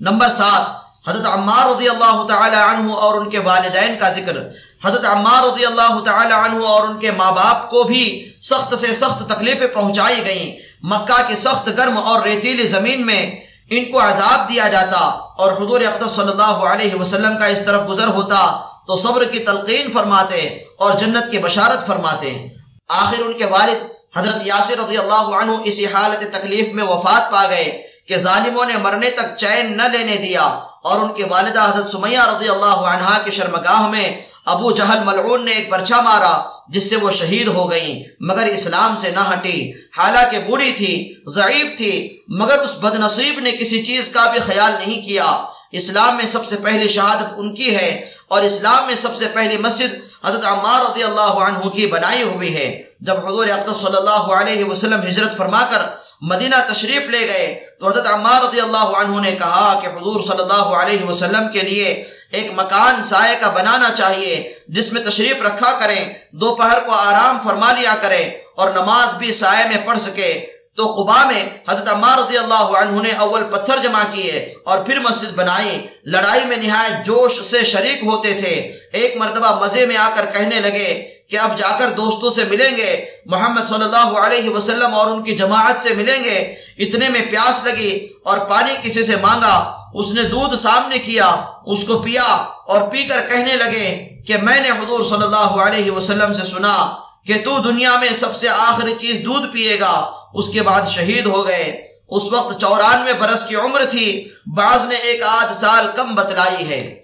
Number 7، حضرت عمار رضی اللہ تعالی عنہ اور ان کے والدین کا ذکر۔ حضرت عمار رضی اللہ تعالی عنہ اور ان کے ماں باپ کو بھی سخت سے سخت تکلیفیں پہنچائی گئیں۔ مکہ کی سخت گرم اور ریتیلی زمین میں ان کو عذاب دیا جاتا اور حضور اقدس صلی اللہ علیہ وسلم کا اس طرف گزر ہوتا تو صبر کی تلقین فرماتے اور جنت کی بشارت فرماتے۔ آخر ان کے والد حضرت یاسر رضی اللہ عنہ اسی حالت تکلیف میں وفات پا گئے کہ ظالموں نے مرنے تک چین نہ لینے دیا، اور ان کی والدہ حضرت سمیہ رضی اللہ عنہا کی شرمگاہ میں ابو جہل ملعون نے ایک پرچہ مارا جس سے وہ شہید ہو گئیں، مگر اسلام سے نہ ہٹی۔ حالانکہ بوڑھی تھی، ضعیف تھی، مگر اس بد نصیب نے کسی چیز کا بھی خیال نہیں کیا۔ اسلام میں سب سے پہلی شہادت ان کی ہے، اور اسلام میں سب سے پہلی مسجد حضرت عمار رضی اللہ عنہ کی بنائی ہوئی ہے۔ جب حضور اقدس صلی اللہ علیہ وسلم ہجرت فرما کر مدینہ تشریف لے گئے تو حضرت عمار رضی اللہ عنہ نے کہا کہ حضور صلی اللہ علیہ وسلم کے لیے ایک مکان سائے کا بنانا چاہیے جس میں تشریف رکھا کریں، دوپہر کو آرام فرما لیا کریں اور نماز بھی سائے میں پڑھ سکے۔ تو قباء میں حضرت عمار رضی اللہ عنہ نے اول پتھر جمع کیے اور پھر مسجد بنائی۔ لڑائی میں نہایت جوش سے شریک ہوتے تھے۔ ایک مرتبہ مزے میں آ کر کہنے لگے کہ اب جا کر دوستوں سے ملیں گے، محمد صلی اللہ علیہ وسلم اور ان کی جماعت سے ملیں گے۔ اتنے میں پیاس لگی اور پانی کسی سے مانگا، اس نے دودھ سامنے کیا، اس کو پیا اور پی کر کہنے لگے کہ میں نے حضور صلی اللہ علیہ وسلم سے سنا کہ تو دنیا میں سب سے آخری چیز دودھ پیے گا۔ اس کے بعد شہید ہو گئے۔ اس وقت 94 برس کی عمر تھی، بعض نے 1 آدھ سال کم بتلائی ہے۔